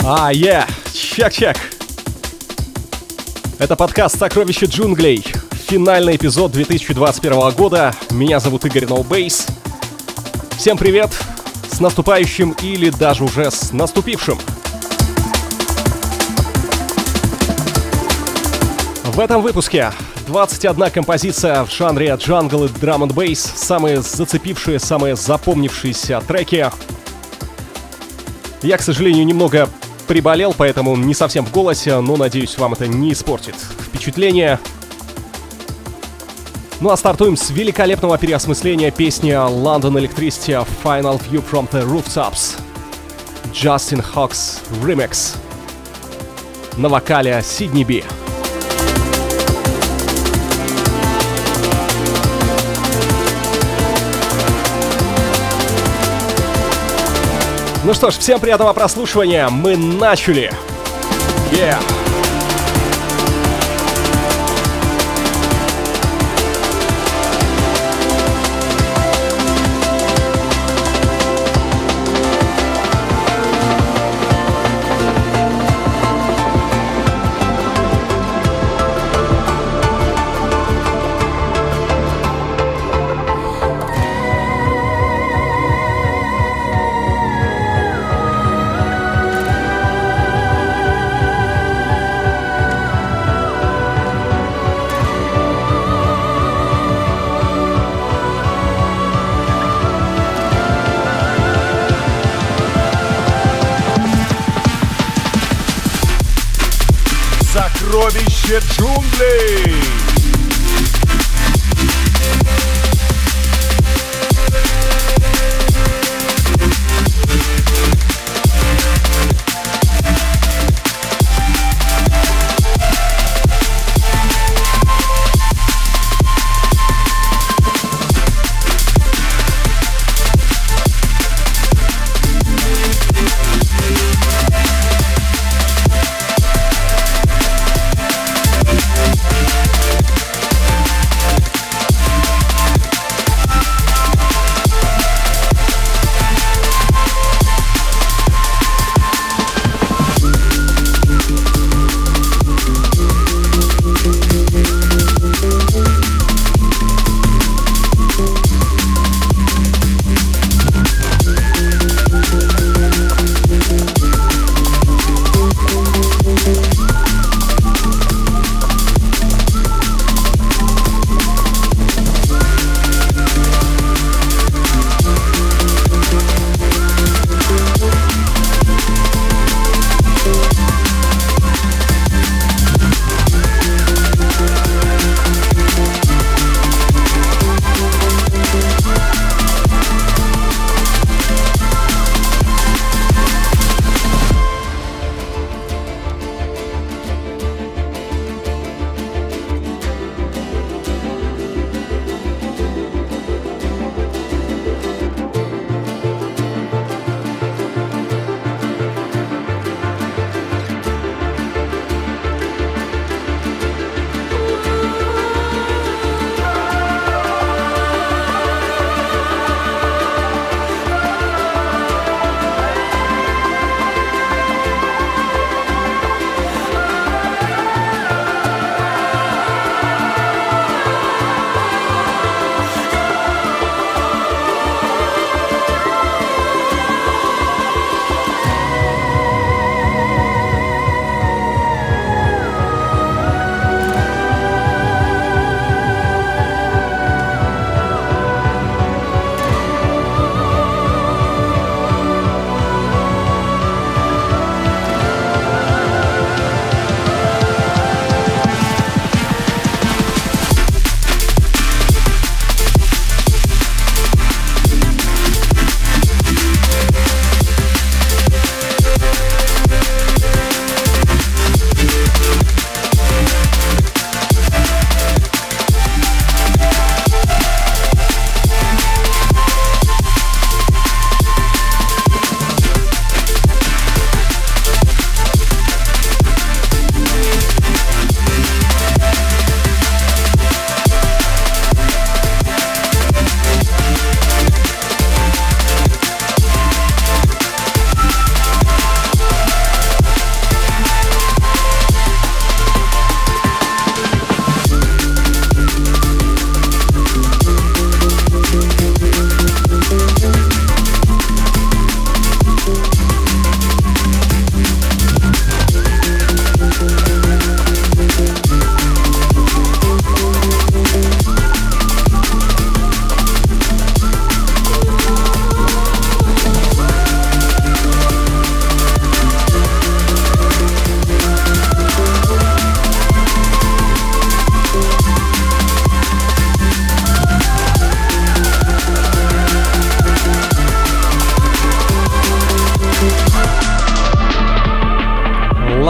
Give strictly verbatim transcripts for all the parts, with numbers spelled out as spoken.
А, е, чек-чек. Это подкаст «Сокровища джунглей». Финальный эпизод две тысячи двадцать первого года. Меня зовут Игорь No Bass. Всем привет, с наступающим или даже уже с наступившим. В этом выпуске двадцать одна композиция в жанре джангл и драм энд бейс, самые зацепившие, самые запомнившиеся треки. Я, к сожалению, немного приболел, поэтому не совсем в голосе, но, надеюсь, вам это не испортит впечатление. Ну а стартуем с великолепного переосмысления песни London Electricity Final View from the Rooftops. Justin Hawks Remix. На вокале Сидни Би. Ну что ж, всем приятного прослушивания. Мы начали. Yeah. Сокровище джунглей!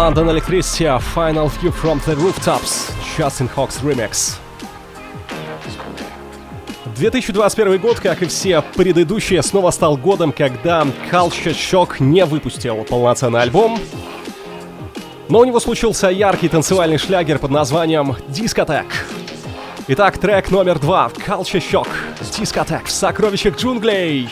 London Electricity, Final View from the Rooftops, Justin Hawks Remix. две тысячи двадцать первый год, как и все предыдущие, снова стал годом, когда Culture Shock не выпустил полноценный альбом. Но у него случился яркий танцевальный шлягер под названием Discotheque. Итак, трек номер два, Culture Shock, Discotheque в сокровищах джунглей.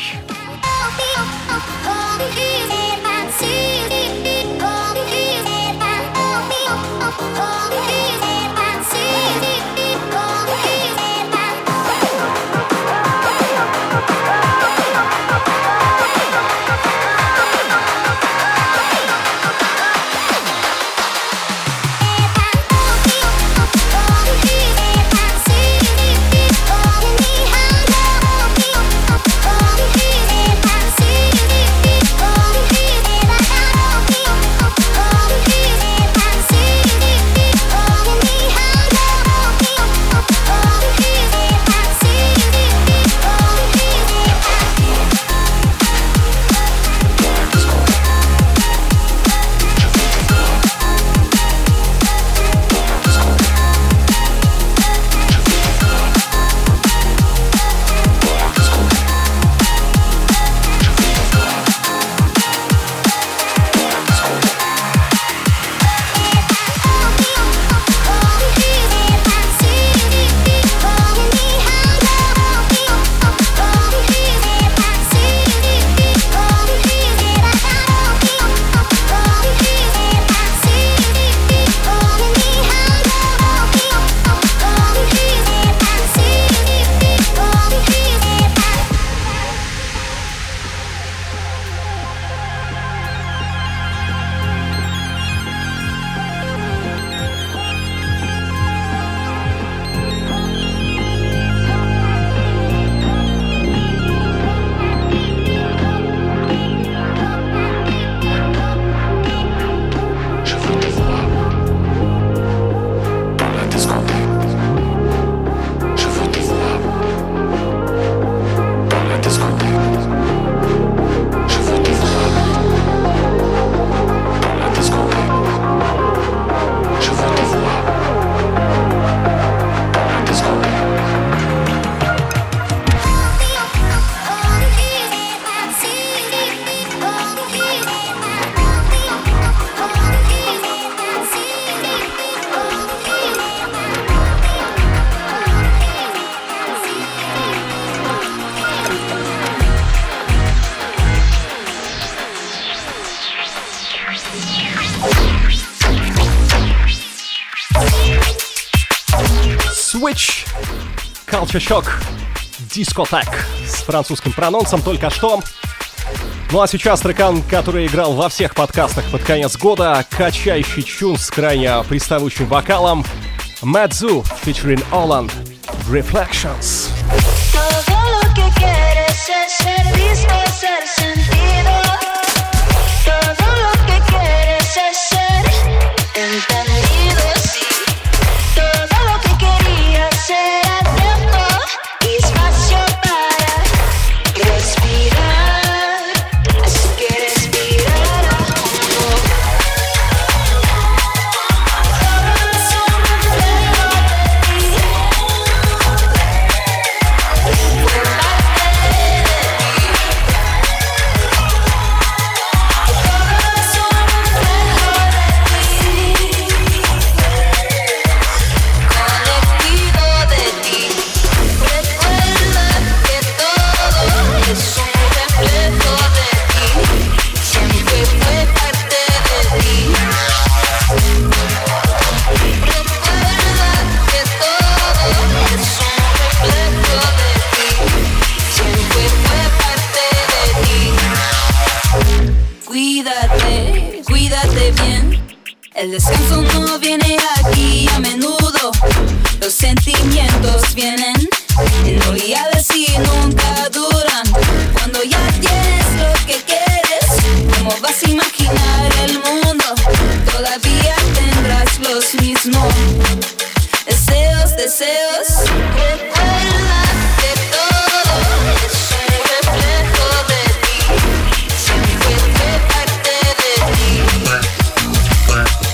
Switch, Culture Shock, Discotheque с французским прононсом только что. Ну а сейчас трекан, который играл во всех подкастах под конец года, качающий чун с крайне приставучим вокалом, Madzu featuring Holland, Reflections. El descanso no viene aquí a menudo, los sentimientos vienen en oleadas y nunca duran. Cuando ya tienes lo que quieres, ¿cómo vas a imaginar el mundo? Todavía tendrás los mismos deseos, deseos. Recuerda que todo es un reflejo de ti, siempre fue parte de ti.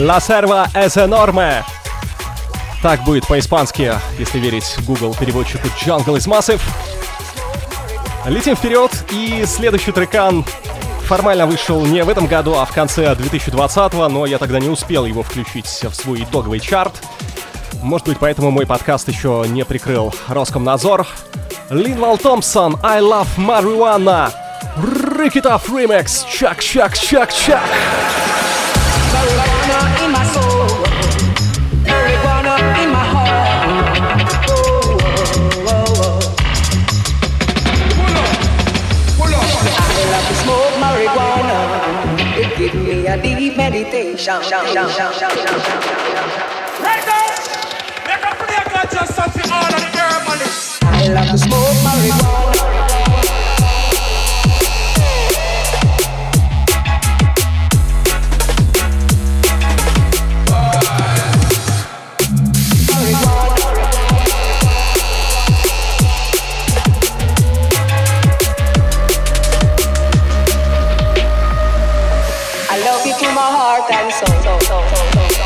La Serva es enorme. Так будет по-испански, если верить Google переводчику Jungle is Massive. Летим вперед, и следующий трекан формально вышел не в этом году, а в конце две тысячи двадцатого, но я тогда не успел его включить в свой итоговый чарт. Может быть, поэтому мой подкаст еще не прикрыл Роскомнадзор. Линвал Томпсон, I Love Marijuana, Break It Off Remix, чак, чак, чак, чак. Marijuana in my soul, marijuana in my heart. Oh, oh, oh, oh. Pull up, pull up. I love to smoke marijuana. It gives me a deep meditation. Right now, make a play got just something all of the herbalists. I love to smoke marijuana. To my heart and soul, soul, soul, soul, soul, soul.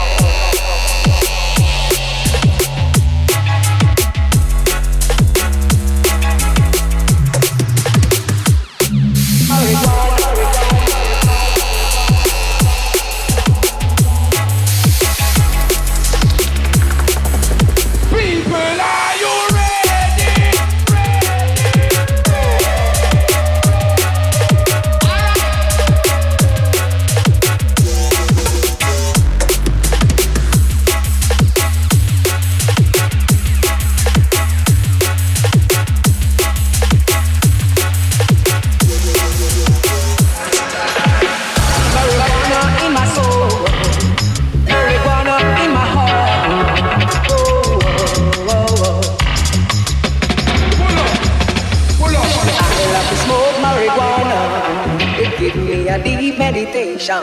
Meditation.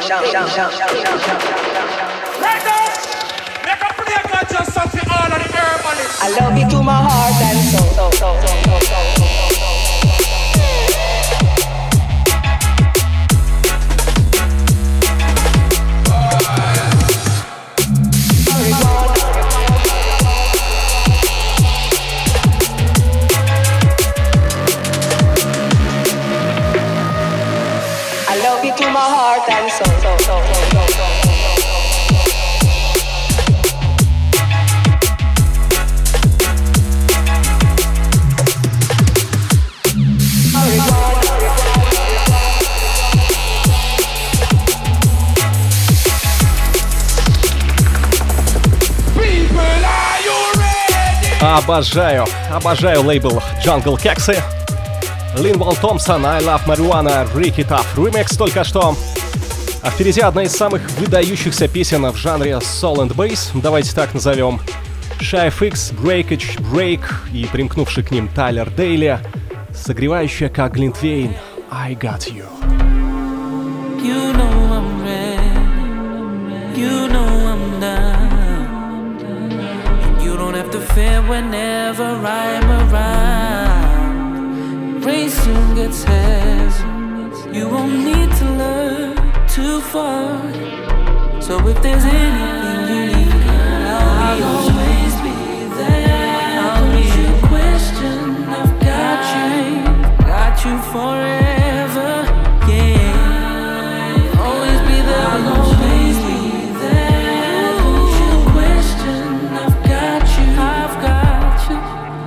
Right now, make a play got just something all of the herbalists. I love you to my heart and soul, soul, soul, soul, soul, soul, soul. To my heart and soul, soul, soul, soul, soul, soul. People, are you ready? Обожаю, обожаю лейбл Jungle Kexy. Линвал Томпсон, I Love Marijuana, Break It Off Remix только что. А впереди одна из самых выдающихся песен в жанре Soul and Bass, давайте так назовем. Shy эф икс, Breakage, Break и примкнувший к ним Тайлер Дейли, согревающая как глинтвейн I Got You. You know I'm ready, you know I'm down, and you don't have to fear whenever I'm around. Rain soon gets heavy, you won't need to learn too far. So if there's anything you need, I'll always be there. I'll need you question, I've got you, got you forever, yeah. Always be there, I'll always be there. Don't you question, I've got you, I've got you.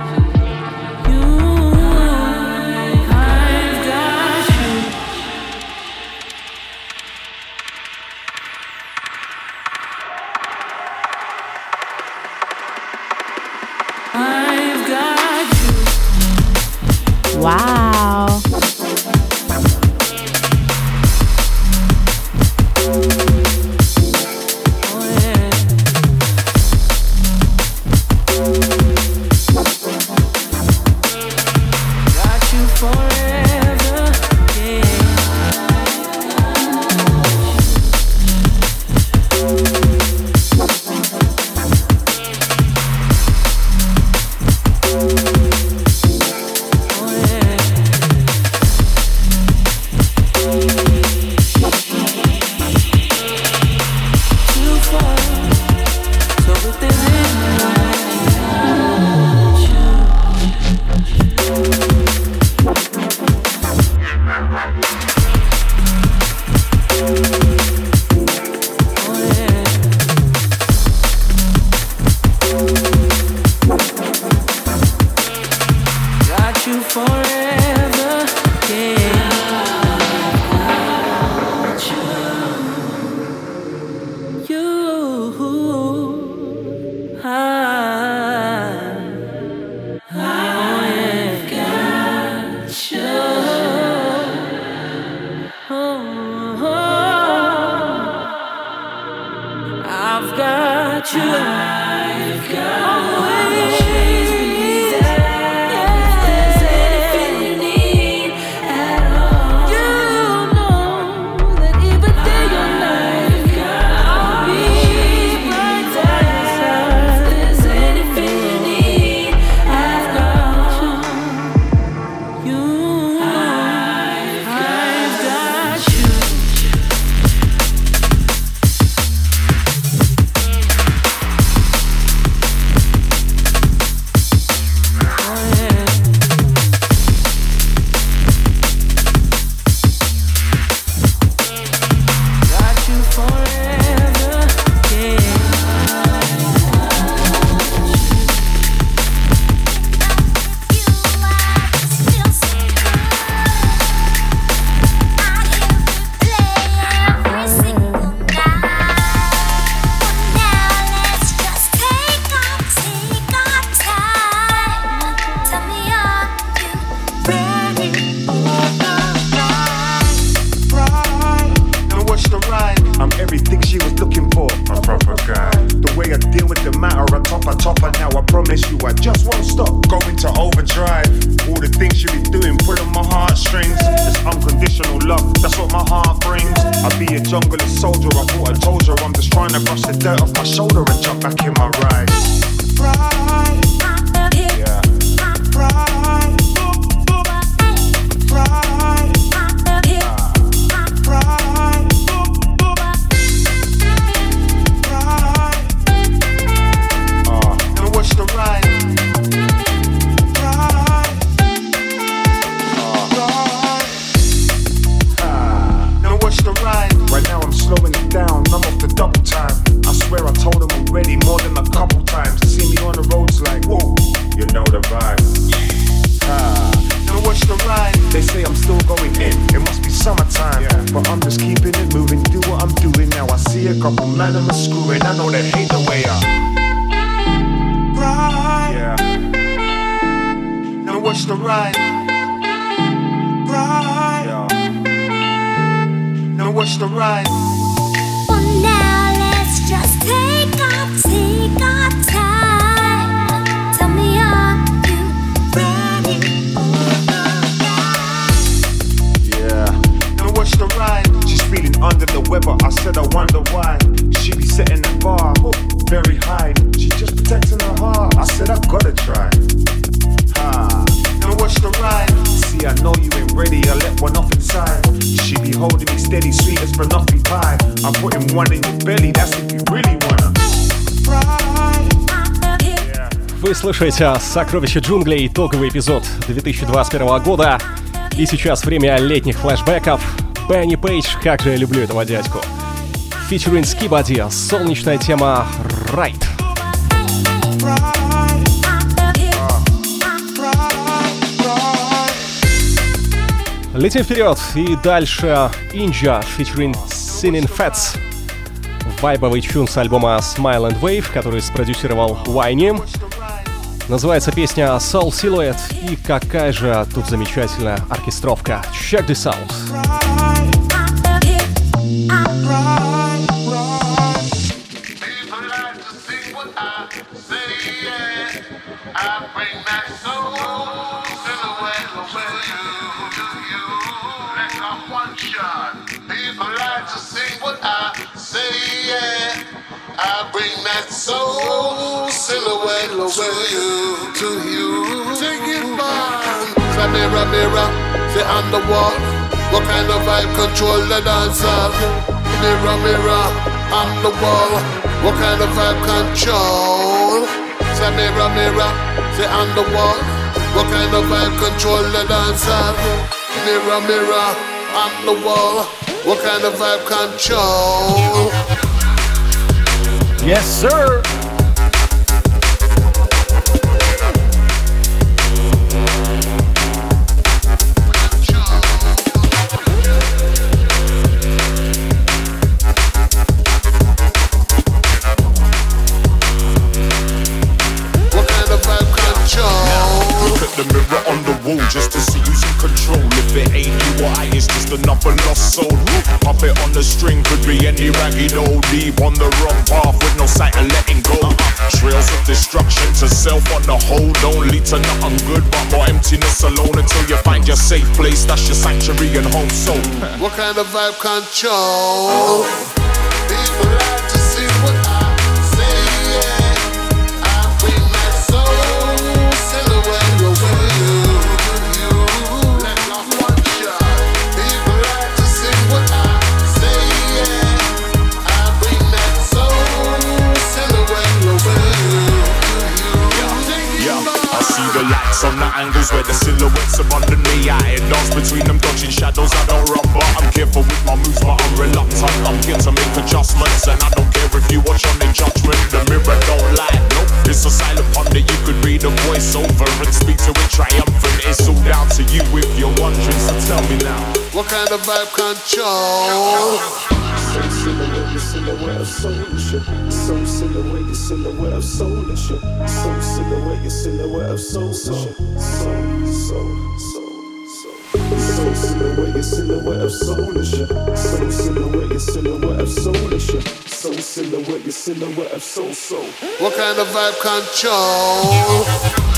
Wow. Yeah. Вы слышите «Сокровища джунглей», итоговый эпизод две тысячи двадцать первого года. И сейчас время летних флешбеков. Бенни Пейдж, как же я люблю этого дядьку. Featuring Skibadi, солнечная тема «Right». Летим вперед и дальше Inja featuring Sinning Fats. Вайбовый чун с альбома Smile and Wave, который спродюсировал Уайни. Называется песня Soul Silhouette. И какая же тут замечательная оркестровка. Check this out. I bring that soul silhouette to you, to you. Take it man. Say mirror, mirror, say on the wall. What kind of vibe control the dancer? Mirror, mirror, on the wall. What kind of vibe control? Say mirror, mirror, say on the wall. What kind of vibe control the dancer? Mirror, mirror, on the wall. What kind of vibe control? Yes, sir. The mirror on the wall just to see who's in control. If it ain't you or I, it's just another lost soul. Puppet on the string could be any ragged oldie on the wrong path with no sight of letting go. Trails of self-destruction to self on the whole don't lead to nothing good but more emptiness alone until you find your safe place. That's your sanctuary and home. So what kind of vibe control? People like to see what I say, yeah. I bring my soul silhouette away. You let off one shot. People like to see what I say, yeah. I bring that soul silhouette away. I see the lights on the angles where the silhouettes are under me. I dance between them, dodging shadows. I don't run, but I'm careful with my moves, but I'm reluctant. I'm here to make adjustments, and I don't care if you watch on the judgment. The mirror don't lie, no. It's a silent ponder. You could read a voice over and speak to it triumphant. It's all down to you if you're wondering. So tell me now, what kind of vibe control? So silhouette, your silhouette of soulish. So silhouette, your silhouette of soulish. So silhouette, your silhouette of soul. So, so, so, so, so. So silhouette, your silhouette of soulish. So silhouette, your silhouette of soulish. So silhouette, your silhouette of soul. So. What kind of vibe control?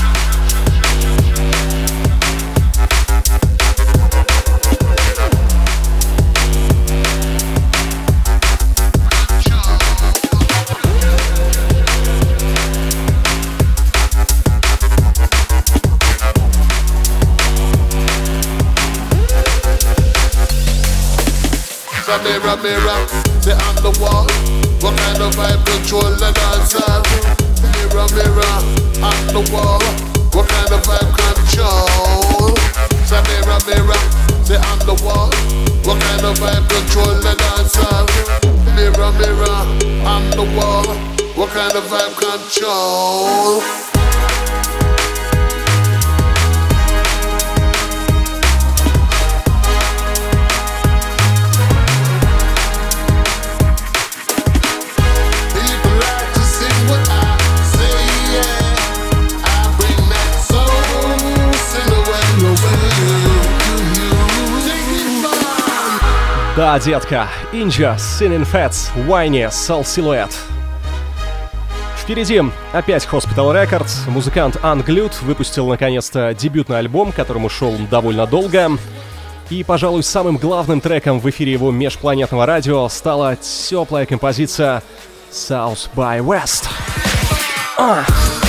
Mirror, mirror, say on the wall. What kind of vibe control the dancer? Mirror, mirror, on the wall. What kind of vibe control? Say mirror, mirror, say on the wall. What kind of vibe control the dancer? Mirror, mirror, on the wall. What kind of vibe control? Да, детка, Inja, Sinning Fats, Whiny, Soul Silhouette. Впереди опять Hospital Records. Музыкант Unglued выпустил наконец-то дебютный альбом, которому шел довольно долго. И, пожалуй, самым главным треком в эфире его межпланетного радио стала теплая композиция South by West. А!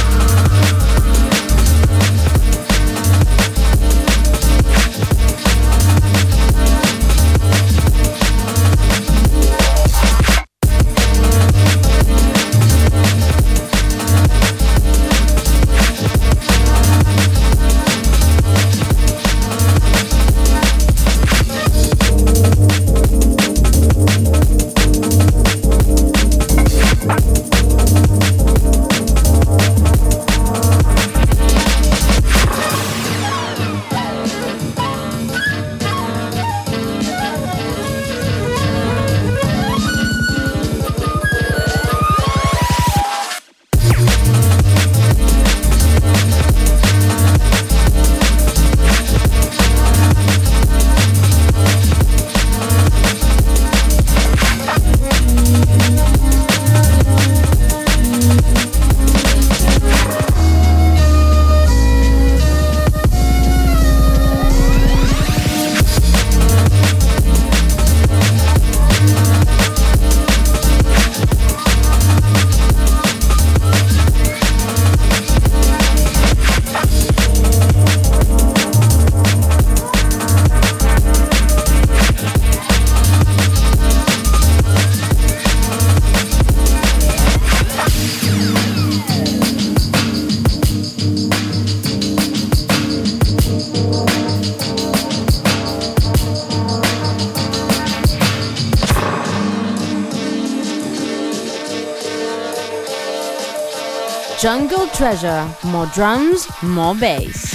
Jungle Treasure, more drums, more bass.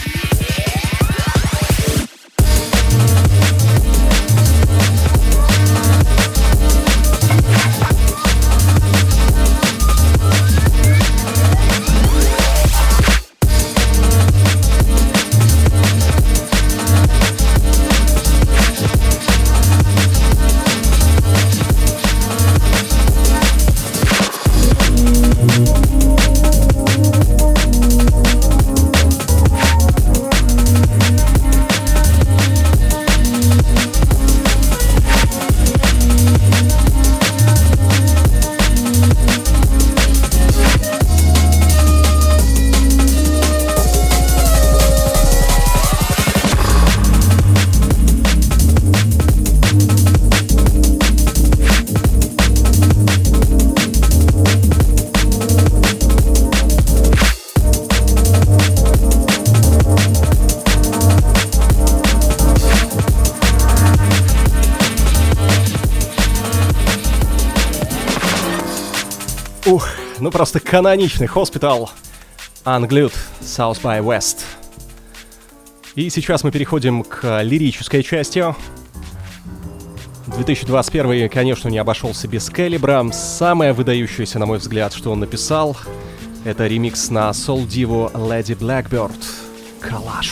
ну просто каноничный Hospital, Unglued, South by West. И сейчас мы переходим к лирической части. две тысячи двадцать первый, конечно, не обошелся без Калибра. Самое выдающееся, на мой взгляд, что он написал, это ремикс на соул-диву Lady Blackbird. Коллаж.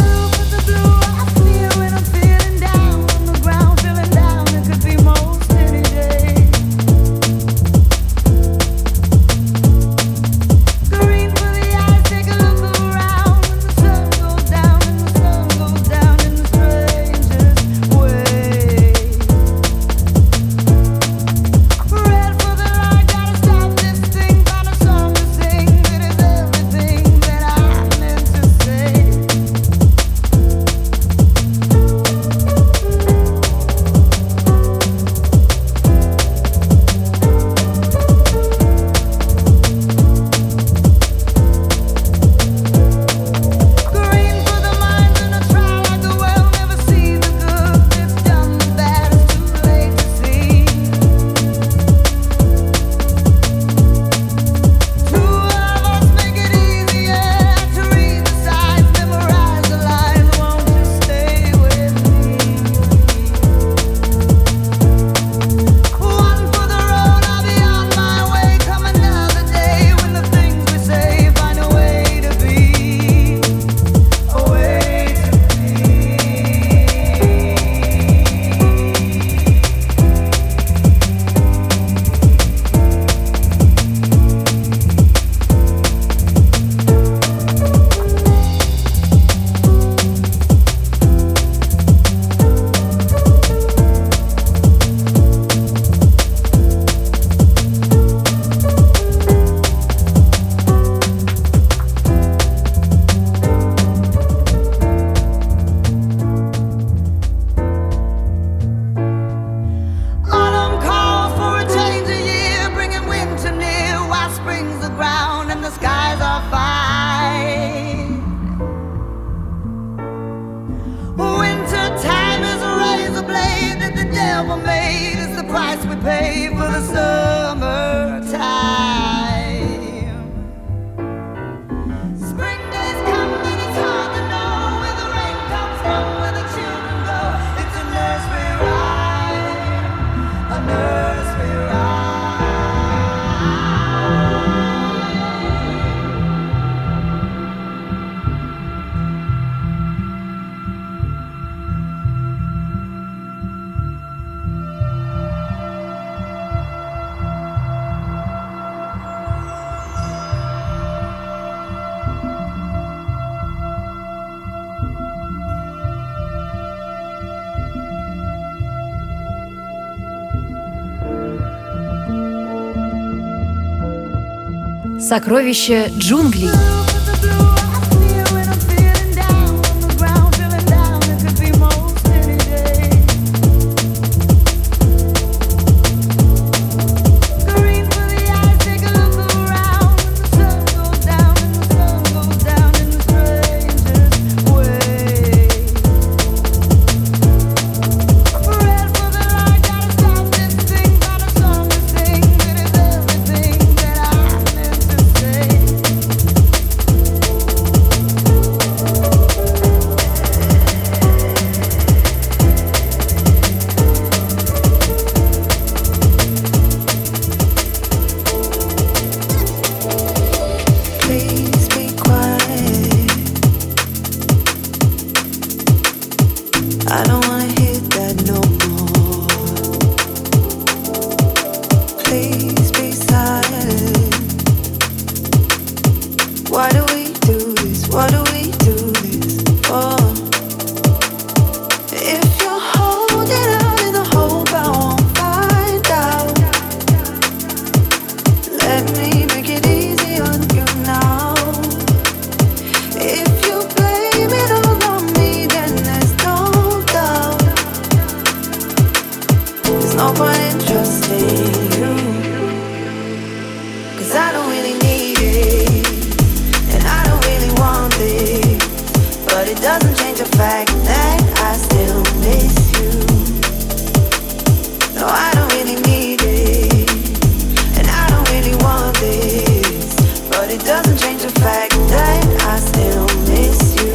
Сокровища джунглей. No, I don't really need it, and I don't really want it. doesn't change the fact that I still miss you.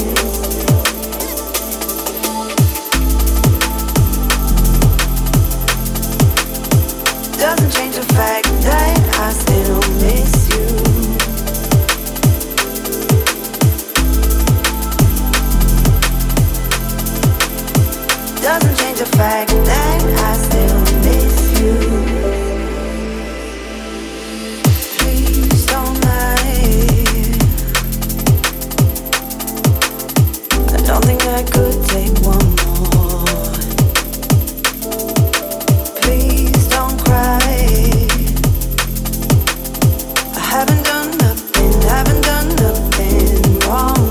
Doesn't change the fact that I still miss you. Doesn't change the fact that I still miss you. Please don't lie. I don't think I could take one more. Please don't cry. I haven't done nothing, haven't done nothing wrong.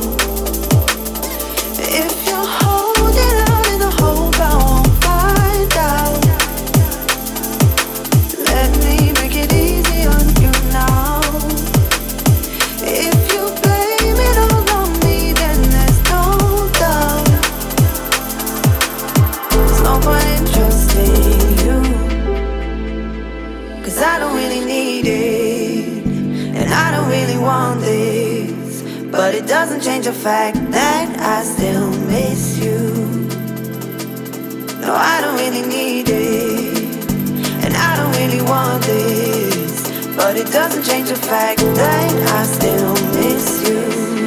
If you're holding out in the hope I won't find out, let me make it easy on you now. If you blame it all on me, then there's no doubt. There's no point in trusting you, 'cause I don't really need it, and I don't really want this. But it doesn't change the fact that I still miss you. No, I don't really need it, and I don't really want this. But it doesn't change the fact that I still miss you.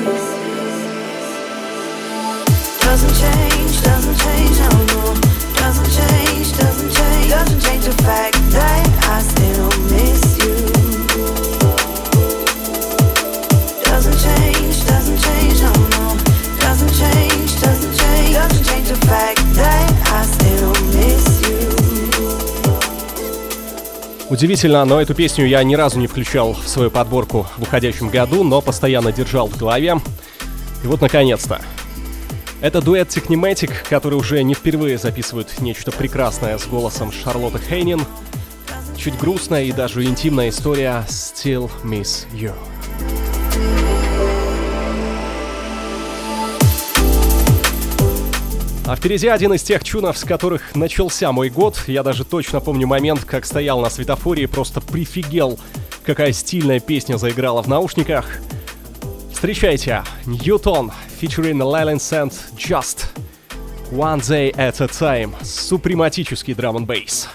Doesn't change, doesn't change, no, no. Doesn't change, doesn't change, doesn't change the fact that I still miss you. Doesn't change, doesn't change, no, no. Doesn't change, doesn't change, doesn't change the fact that I still miss you. Удивительно, но эту песню я ни разу не включал в свою подборку в уходящем году, но постоянно держал в голове. И вот, наконец-то. Это дуэт Technimatic, который уже не впервые записывает нечто прекрасное с голосом Шарлотты Хейнин. Чуть грустная и даже интимная история «Still Miss You». А впереди один из тех чунов, с которых начался мой год. Я даже точно помню момент, как стоял на светофоре и просто прифигел, какая стильная песня заиграла в наушниках. Встречайте, Newton, featuring Leyland Sand, Just One Day at a Time. Супрематический драм-н-бейс.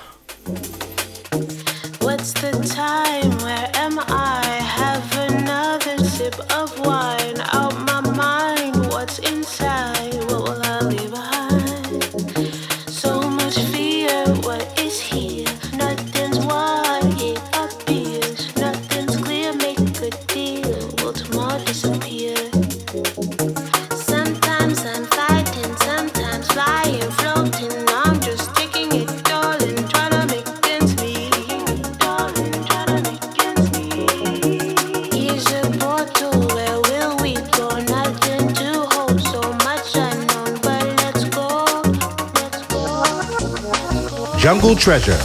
What's the time? Where am I? Have another sip of wine. Out my mind, what's inside? What will I leave behind? So much fear, what is here? Nothing's what it appears. Nothing's clear, make a deal. Will tomorrow disappear? Sometimes I'm fighting, sometimes flying, floating. I'm just taking it, darling, trying to make ends meet. Darling, trying to make ends meet. Here's a portal, where will we go? Nothing to hold, so much unknown, but let's go, let's go, let's go. Jungle Treasure.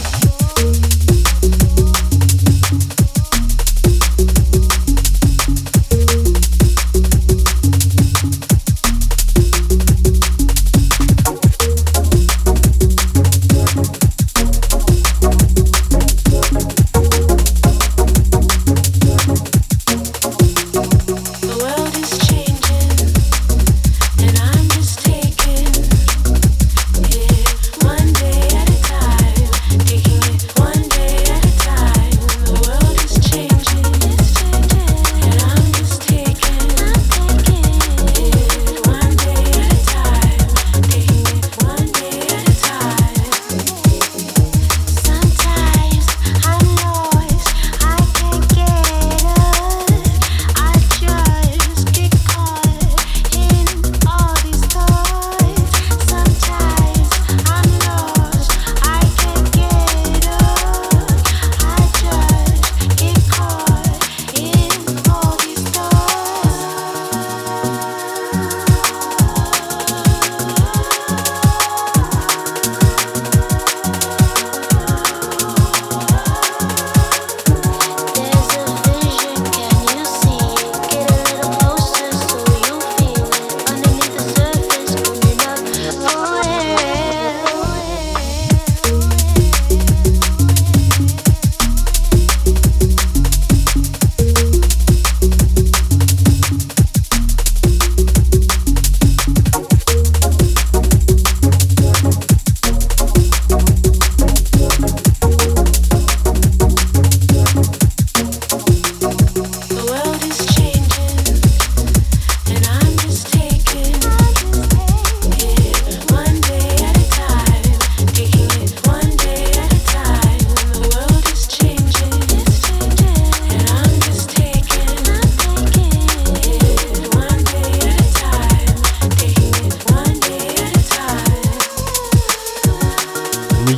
The world is changing, and I'm just taking it one day at a time, taking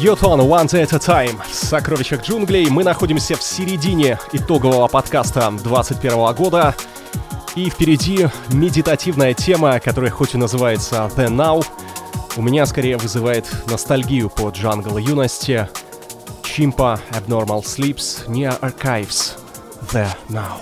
Йотон One Day at a Time. В сокровищах джунглей мы находимся в середине итогового подкаста двадцать первого года. И впереди медитативная тема, которая хоть и называется The Now, у меня скорее вызывает ностальгию по джангл юности. Chimpa Abnormal Sleeps Near Archives. The Now.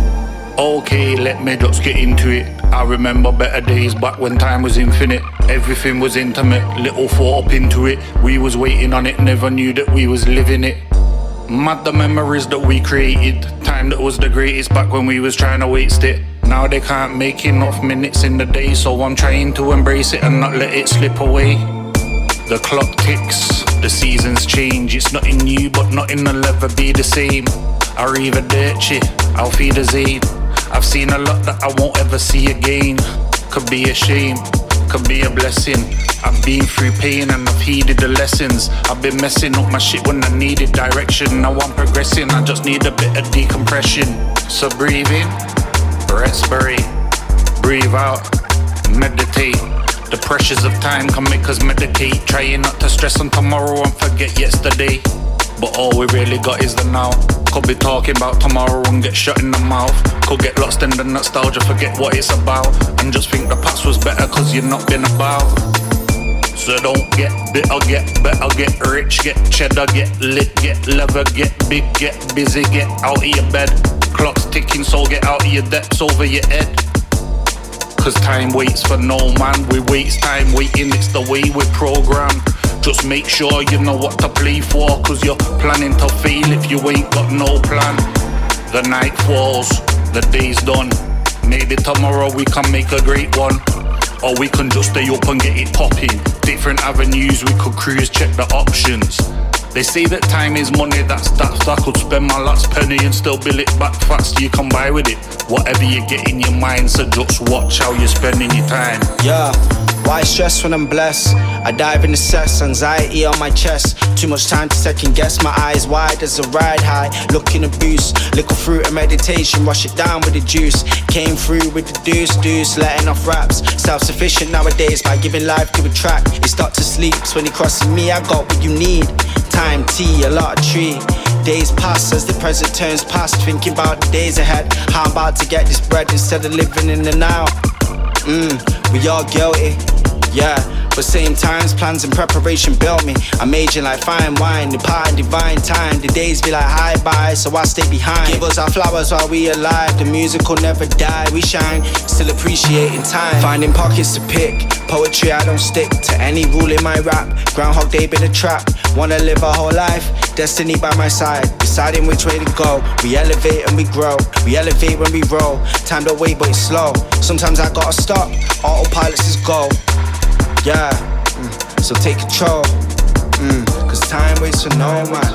Okay, let me just get into it. I remember better days back when time was infinite. Everything was intimate, little thought up into it. We was waiting on it, never knew that we was living it. Mad the memories that we created. Time that was the greatest back when we was trying to waste it. Now they can't make enough minutes in the day, so I'm trying to embrace it and not let it slip away. The clock ticks, the seasons change. It's nothing new, but nothing will ever be the same. Arrivederci, Auf Wiedersehen. I've seen a lot that I won't ever see again. Could be a shame, could be a blessing. I've been through pain and I've heeded the lessons. I've been messing up my shit when I needed direction. Now I'm progressing, I just need a bit of decompression. So breathe in, respirate, breathe out, meditate. The pressures of time can make us medicate. Trying not to stress on tomorrow and forget yesterday. But all we really got is the now. Could be talking about tomorrow and get shut in the mouth. Could get lost in the nostalgia, forget what it's about. And just think the past was better cause you've not been about. So don't get bitter, get better, get rich, get cheddar, get lit, get leather, get big, get busy, get out of your bed. Clock's ticking, so get out of your depths over your head. Cause time waits for no man, we waste time waiting, it's the way we're programmed. Just make sure you know what to play for, cause you're planning to fail if you ain't got no plan. The night falls, the day's done. Maybe tomorrow we can make a great one. Or we can just stay up and get it popping. Different avenues we could cruise, check the options. They say that time is money, that's that. I could spend my last penny and still bill it back fast. You can buy with it whatever you get in your mind, so just watch how you're spending your time. Yeah, why stress when I'm blessed? I dive into sex, anxiety on my chest. Too much time to second guess, my eyes wide as a ride high. Looking a boost, little fruit of meditation, wash it down with the juice. Came through with the deuce, deuce, letting off raps. Self-sufficient nowadays by giving life to a track. It start to sleep, when he crosses me, I got what you need. Time, tea, a lot of tree. Days pass as the present turns past. Thinking about the days ahead, how I'm about to get this bread instead of living in the now. Mmm, we all guilty, yeah. But same times, plans and preparation built me. I'm aging like fine wine, departing divine time. The days be like hi bye, so I stay behind. Give us our flowers while we alive. The music will never die, we shine, still appreciating time. Finding pockets to pick, poetry I don't stick to any rule in my rap. Groundhog Day been a trap, wanna live a whole life. Destiny by my side, deciding which way to go. We elevate and we grow, we elevate when we roll. Time to wait but it's slow, sometimes I gotta stop. Autopilot says go. Yeah, mm, so take control, mm, cause time waits for no man.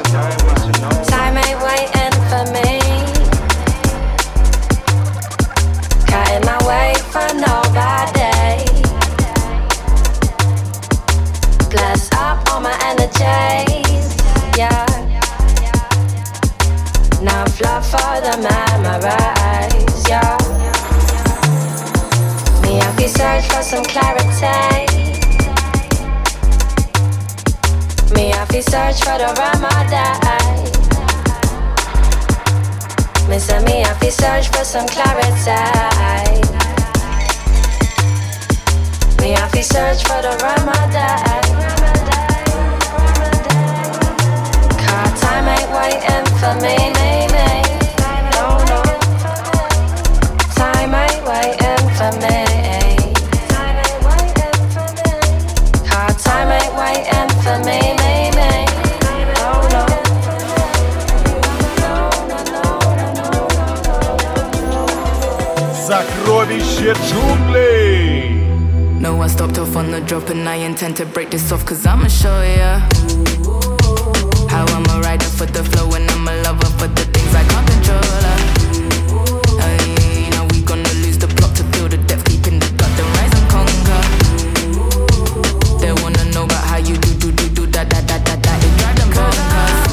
Time ain't waiting for me. Cutting my way for nobody. Glass up on my energies, yeah. Now fluff for the memories, yeah. Me have to search for some clarity. Me have to search for the Ramadan. Me say me have to search for some clarity. Me have to search for the Ramadan. Cause time ain't waiting for me, me, me. No, no. Time ain't waiting for me. Cause time ain't waiting for me, me, me. No, no. Сокровище джунглей. No, I stopped off on the drop and I intend to break this off, cause I'ma show ya how I'm a rider for the flow and I'm a lover for the things I can't control. Hey, now we gonna lose the plot to feel the depth deep in the gut, then rise and conquer. They wanna know about how you do, do, do, do, da, da, da, da, da. It drive them bonkers.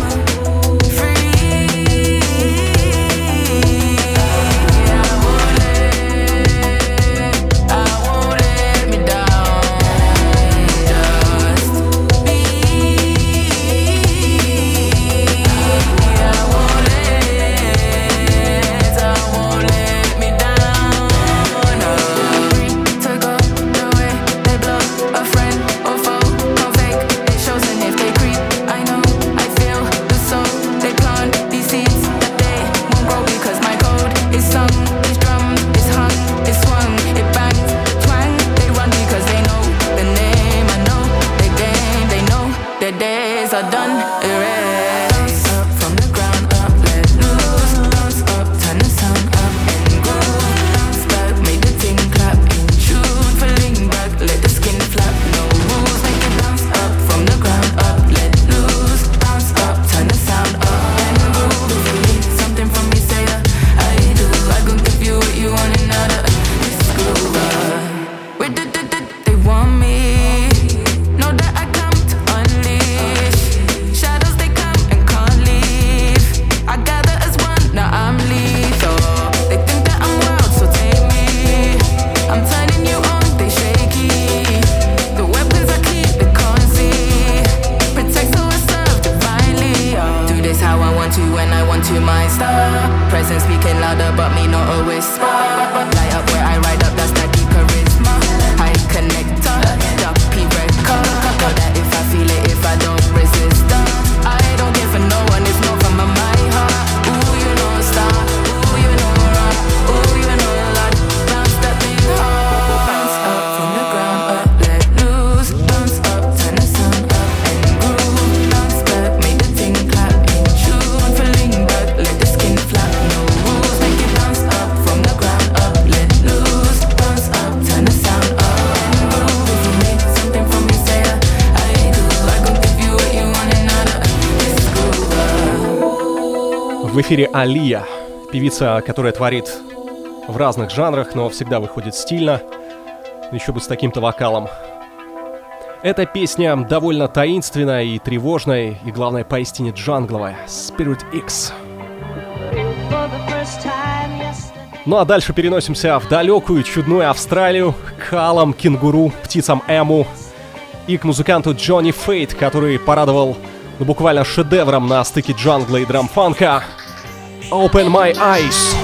В эфире Алия, певица, которая творит в разных жанрах, но всегда выходит стильно, еще бы с таким-то вокалом. Эта песня довольно таинственная и тревожная, и, главное, поистине джангловая. Spirit X. Ну а дальше переносимся в далекую, чудную Австралию, к халам, кенгуру, птицам эму и к музыканту Джонни Фейт, который порадовал ну, буквально шедевром на стыке джангла и драмфанка. Open My Eyes.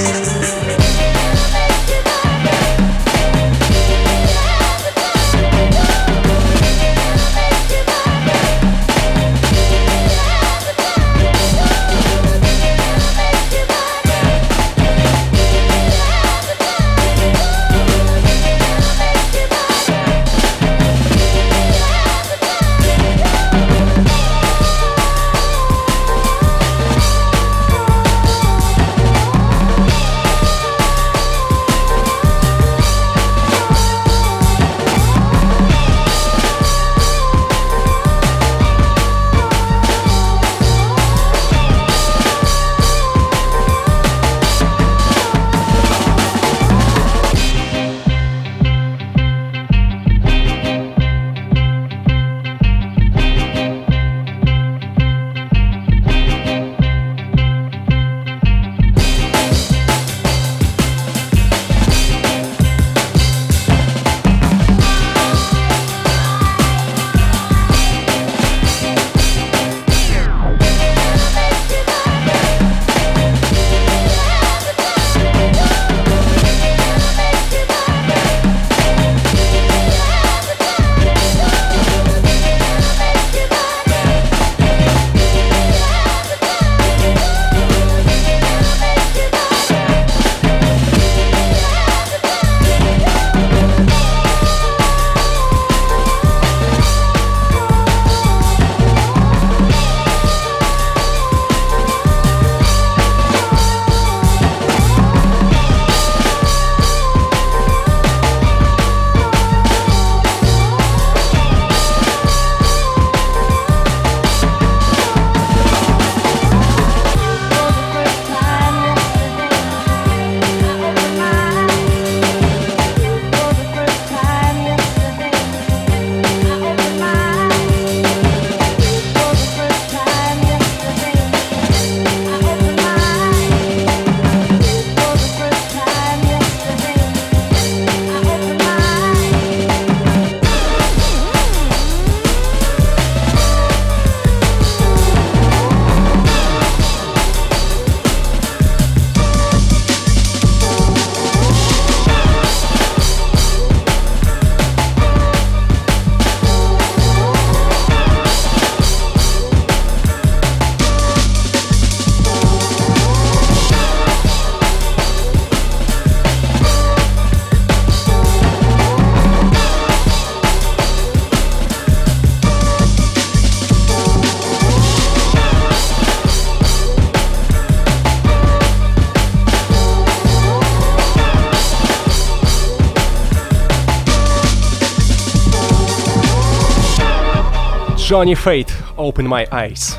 Johnny Fate, Open My Eyes.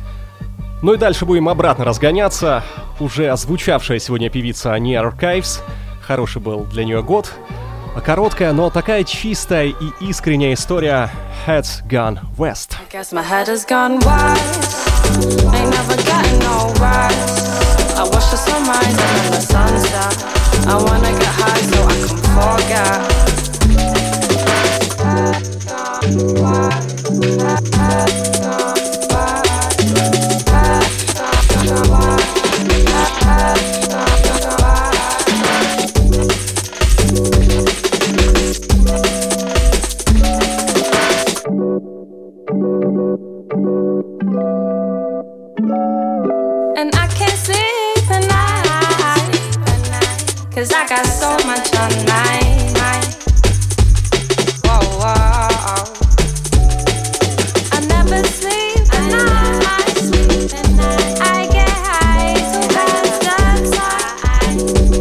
Ну и дальше будем обратно разгоняться. Уже озвучавшая сегодня певица Near Archives. Хороший был для нее год. Короткая, но такая чистая и искренняя история Head's Gone West. I guess my head has gone west. Ain't never getting no rest. I watch the sunrise and then the sunset. I wanna get high so I can forget. And I can't sleep at night, 'cause I got so much on my mind. Whoa, whoa. I never sleep at night. I get high so fast outside.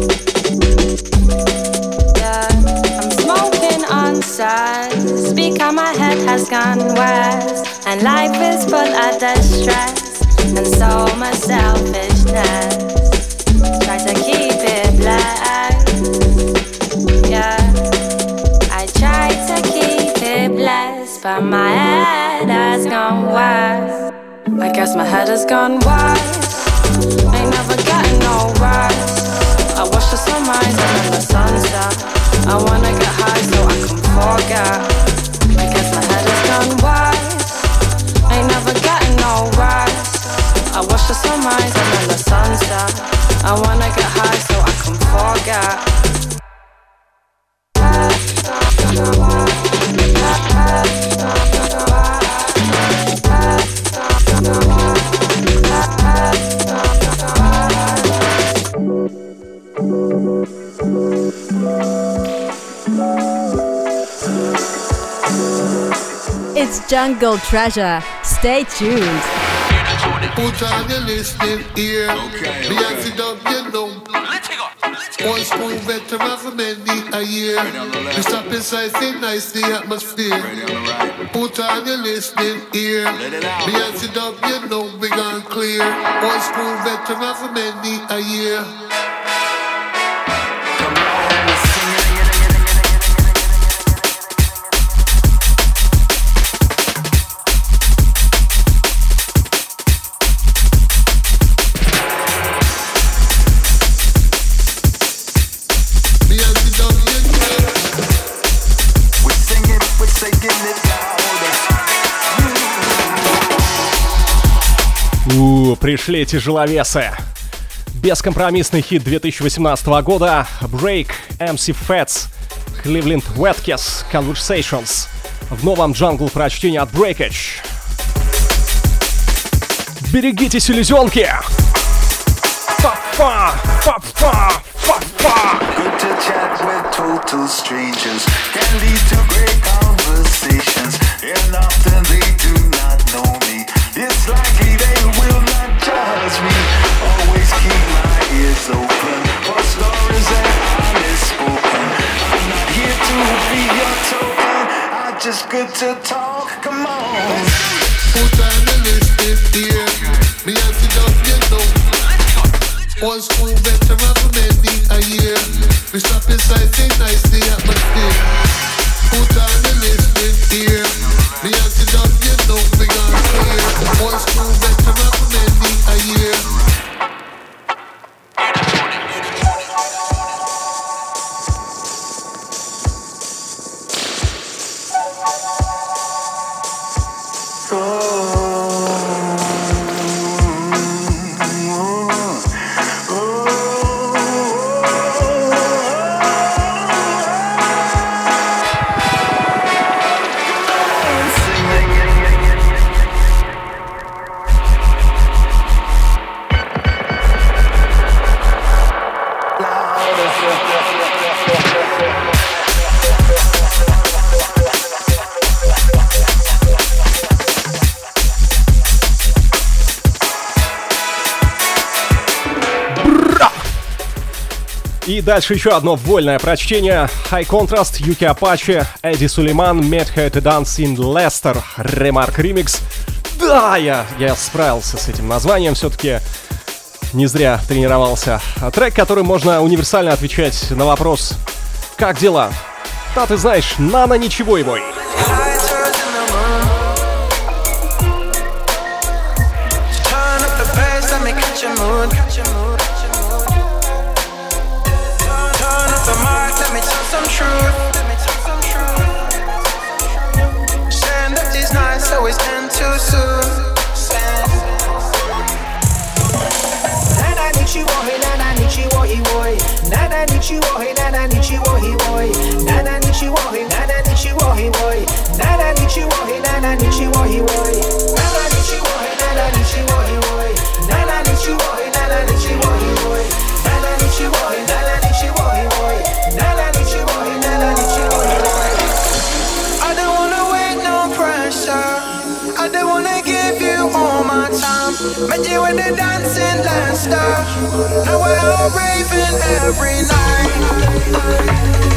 Yeah, I'm smoking on sides. Because my head has gone west, and life is full of distress and so much selfishness. brightness. Try to keep it black. Yeah, I try to keep it blessed, but my head has gone wide. I guess my head has gone wide. Ain't never getting no rest. I watch the sunrise and then the sunset. I wanna get high so I can forget. I guess my head has gone wide. Ain't never getting no rest. I watch the sunrise and then the sunset. I wanna get high so I can forget. It's Jungle Treasure. Stay tuned. Put on your listening ear. Okay, me and sit up, you know. One school veteran for many a year. We stop inside, say nice the atmosphere. Put on your listening ear. Me and sit up, you know, we gone clear. One school veteran for many a year. У, пришли тяжеловесы. Бескомпромиссный хит две тысячи восемнадцатого года. Break, эм си Fats, Cleveland Wetkiss, Conversations. В новом джангл прочтения от Breakage. Берегите селезенки! Фа-фа! Фа-фа! Фа-фа! Good to chat with total strangers. Can lead to great conversations. And often they do not know me. It's likely they will not judge me. Always keep my ears open for stories that are spoken. I'm not here to be your token. I'm just good to talk. Come on. Put on the list here. Me and sit up, you know. One school veteran for many a year. We stop inside, say nice the atmosphere. Put on the list here. Me and sit up, you know, we gone clear. One school veteran for many a year. И дальше еще одно вольное прочтение. High Contrast, Юки Apache, Эдди Сулейман, Met Her to Dance in Leicester, Remark Remix. Да, я, я справился с этим названием, все-таки не зря тренировался. Трек, которым можно универсально отвечать на вопрос «Как дела?». Да, ты знаешь, Нана ничего его. Some truth. Saying that it's nice, so it's end too soon. Nana nichiwo, hey nana nichiwo, hey boy. Nana nichiwo, hey nana nichiwo, hey boy. Nana nichiwo, hey nana nichiwo, hey boy. Nana nichiwo, hey nana nichiwo, hey boy. Nana nichiwo, hey nana nichiwo, hey boy. Nana nichiwo, hey nana nichiwo, hey boy. Nana nichiwo, hey nana nichiwo, hey boy. Nana nichiwo, hey nana nichiwo, hey boy. I don't wanna wait, no pressure. I don't wanna give you all my time. Met you at the dancing Leicester. Now we're all raving every night.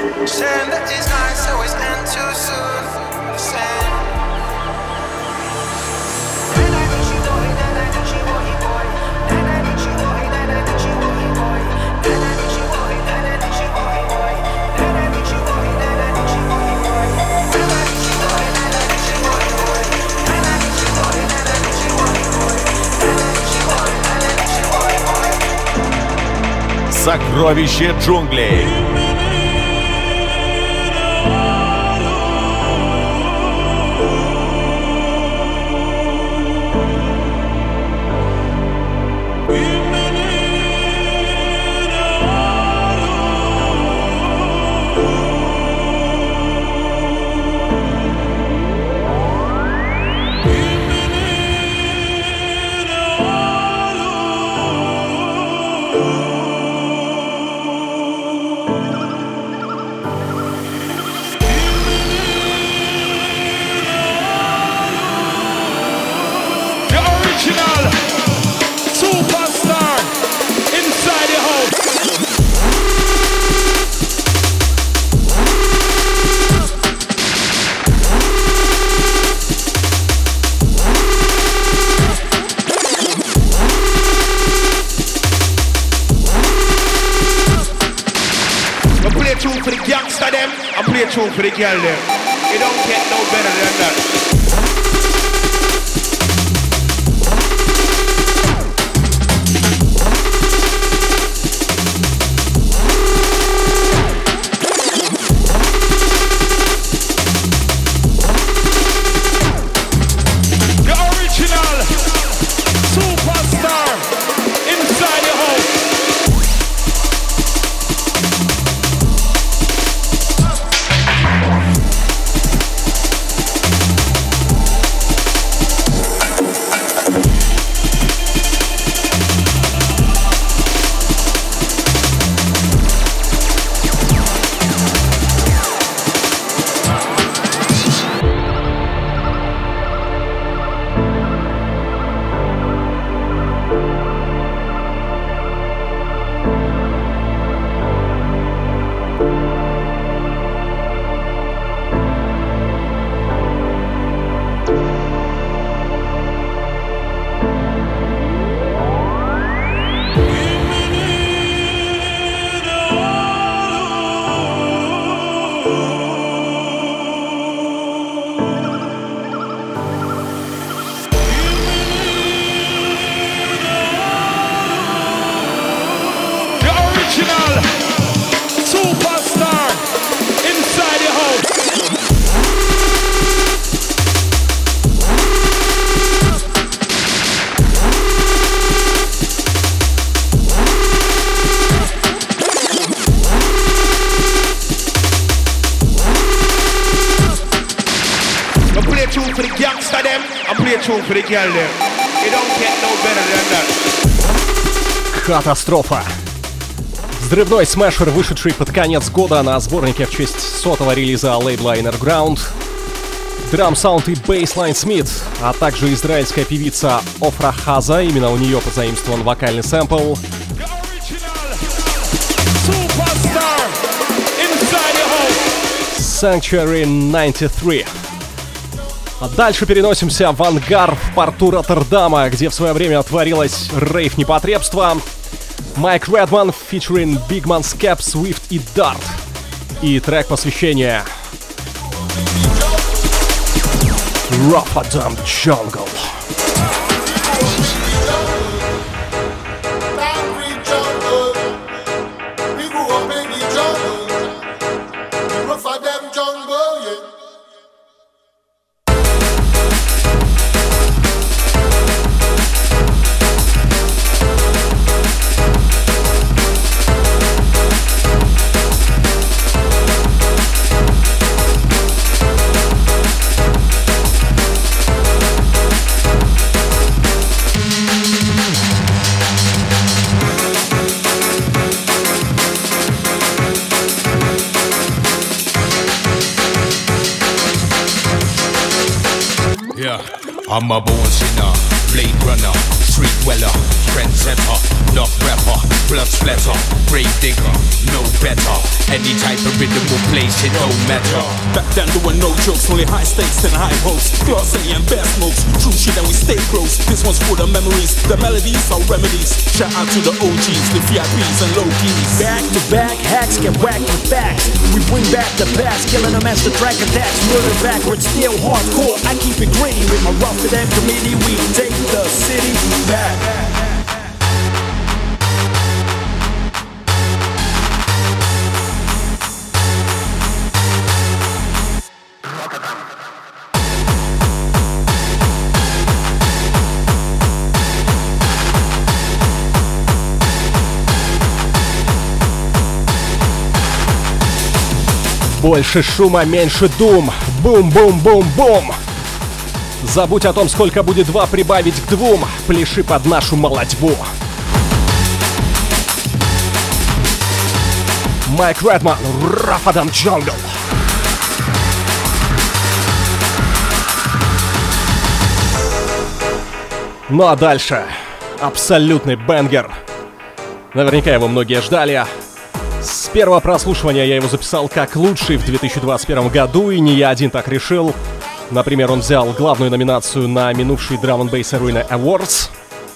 Saying that it's nice, so it's end too soon. Saying Сокровище джунглей. Tune for the girl there. You don't get no better than that. The original superstar inside your house. For the girl there. You don't get no better than that. Катастрофа. Взрывной смешер, вышедший под конец года на сборнике в честь сотого релиза лейбла Underground. Драм-саунд и бейслайн Смит, а также израильская певица Офра Хаза, именно у нее позаимствован вокальный сэмпл. Sanctuary девяносто три. А дальше переносимся в ангар в порту Роттердама, где в свое время творилось рейв-непотребство. Майк Редман featuring Big Man Skep, Swift и Dart. И трек посвящения Rotterdam Jungle. I'm a born sinner, Blade runner, street dweller, trendsetter, not rapper, blood splatter, grave digger, no better. Any type of rhythm will place, it don't matter. Back then there were no jokes, only high stakes and high hopes. Glass and bear smokes, true shit and we stay close. This one's for the memories, the melodies are remedies. Shout out to the O Gs, the V I Ps and low keys. Back to back, hacks get whacked with facts. We bring back the past, killing them as the track attacks. Murder backwards, still hardcore. I keep it gritty with my rough to them committee. We take the city back. Больше шума, меньше дум. Бум-бум-бум-бум. Забудь о том, сколько будет два прибавить к двум. Пляши под нашу молодьбу. Майк Редман, Рафадам Джангл. Ну а дальше абсолютный бенгер. Наверняка его многие ждали. С первого прослушивания я его записал как лучший в две тысячи двадцать первом году, и не я один так решил. Например, он взял главную номинацию на минувший Drum and Bass Arena Awards.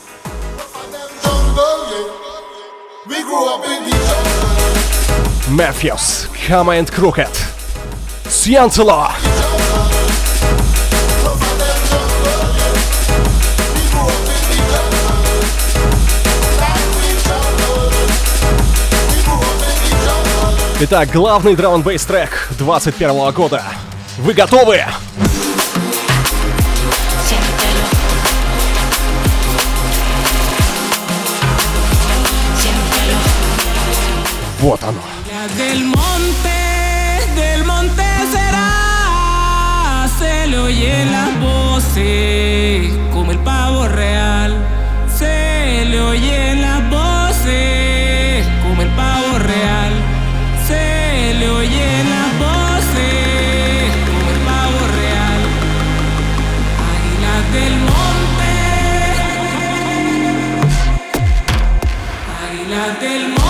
Matthews, Come and Crooked, Сьянцело. Итак, главный Drum and Bass трек двадцать первого года. Вы готовы? Вот оно. Del monte, del monte será, se le oyen las voces como el pavo real. Se le oyen las voces como el pavo real. Se le oyen las voces como el pavo real. Águilas del monte, águilas del monte.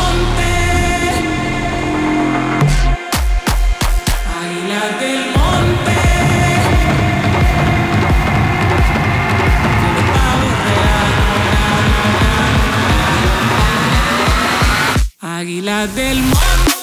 Águilas del monte.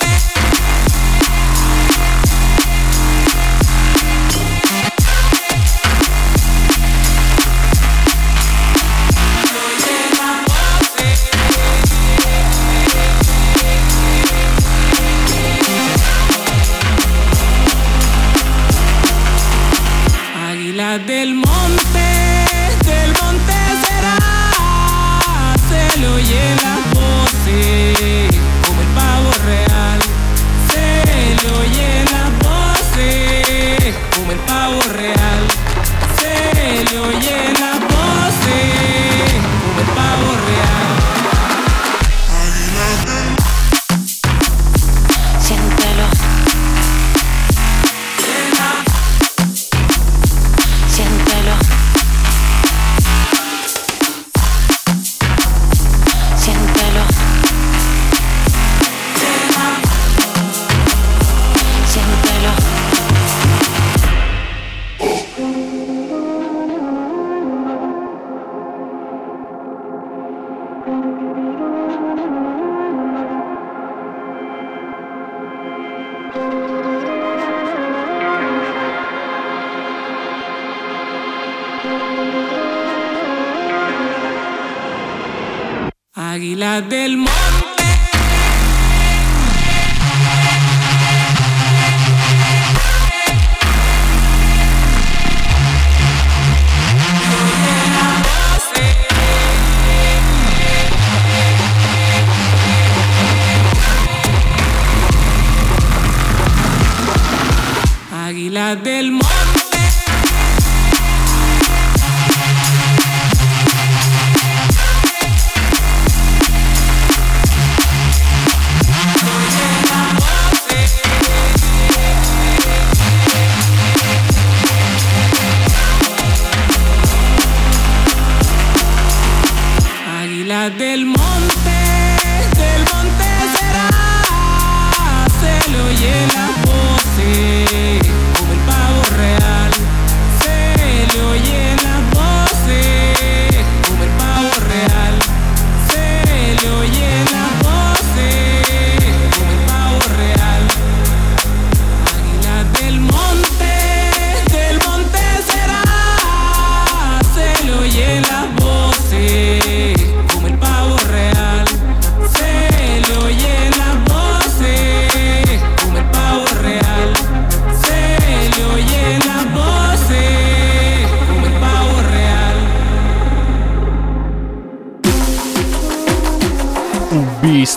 Águilas del monte, del monte será, se le oyen las voces como el pavo real. Se le oyen las voces como el pavo real. Se le oyen las voces como el pavo real. Siéntelo. Siéntelo. Siéntelo. Siéntelo. Águilas del monte. Águilas del monte.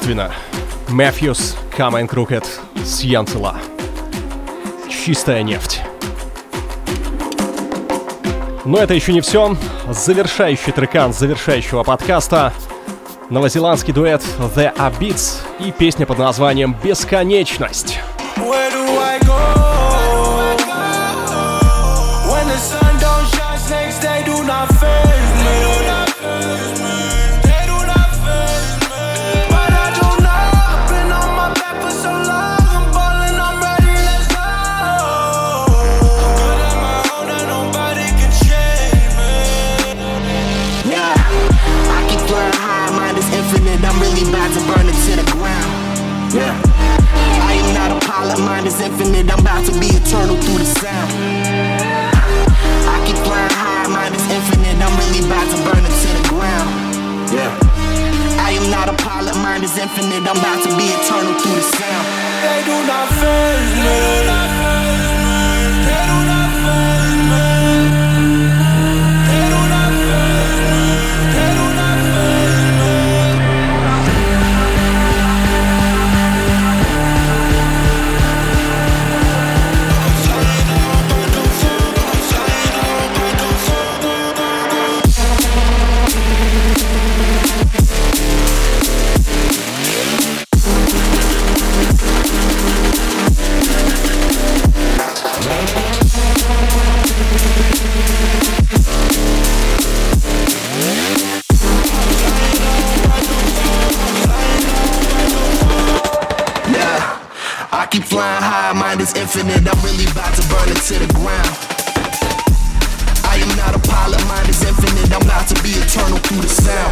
Естественно, Matthews, Come and Crooked, Сьянтела. Чистая нефть. Но это еще не все. Завершающий трекан завершающего подкаста. Новозеландский дуэт The Abits и песня под названием «Бесконечность». Yeah, I am not a pilot, mind is infinite, I'm about to be eternal through the sound. I keep flying high, mind is infinite, I'm really about to burn it to the ground. Yeah, I am not a pilot, mind is infinite, I'm about to be eternal through the sound. They do not faze me. They do not faze me. They do not faze me. They do not faze me. They do not faze me. Keep flying high, mind is infinite, I'm really about to burn it to the ground. I am not a pilot, mind is infinite, I'm about to be eternal through the sound.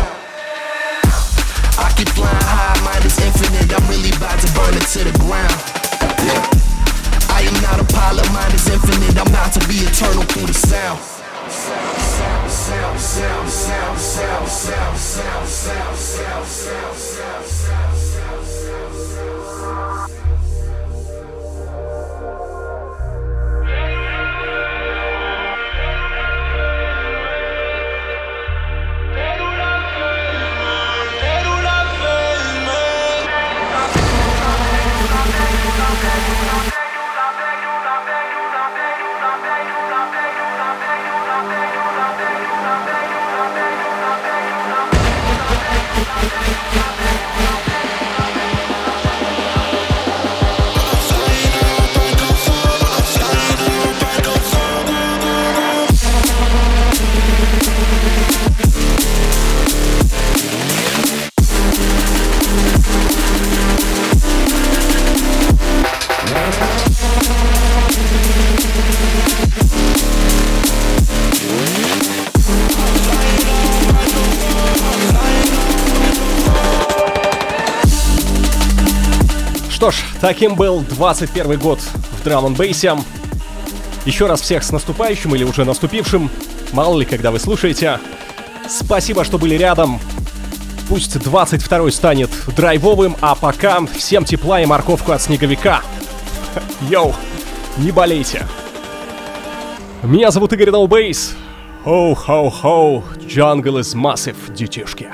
I keep flying high, mind is infinite, I'm really about to burn it to the ground. Yeah. I am not a pilot, mind is infinite, I'm about to be eternal through the sound. Sound, sound, sound, sound, sound, sound, sound, sound, sound, sound, sound, sound, sound. Что ж, таким был двадцать первый год в драм-н-бейсе. Еще раз всех с наступающим или уже наступившим. Мало ли, когда вы слушаете. Спасибо, что были рядом. Пусть двадцать второй станет драйвовым, а пока всем тепла и морковку от снеговика. Йоу, не болейте. Меня зовут Игорь Ноубейс. Хоу-хоу-хоу, jungle is massive, детишки.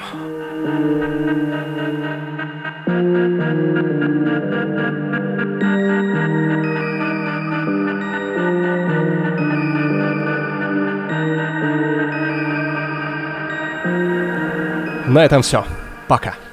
На этом все. Пока.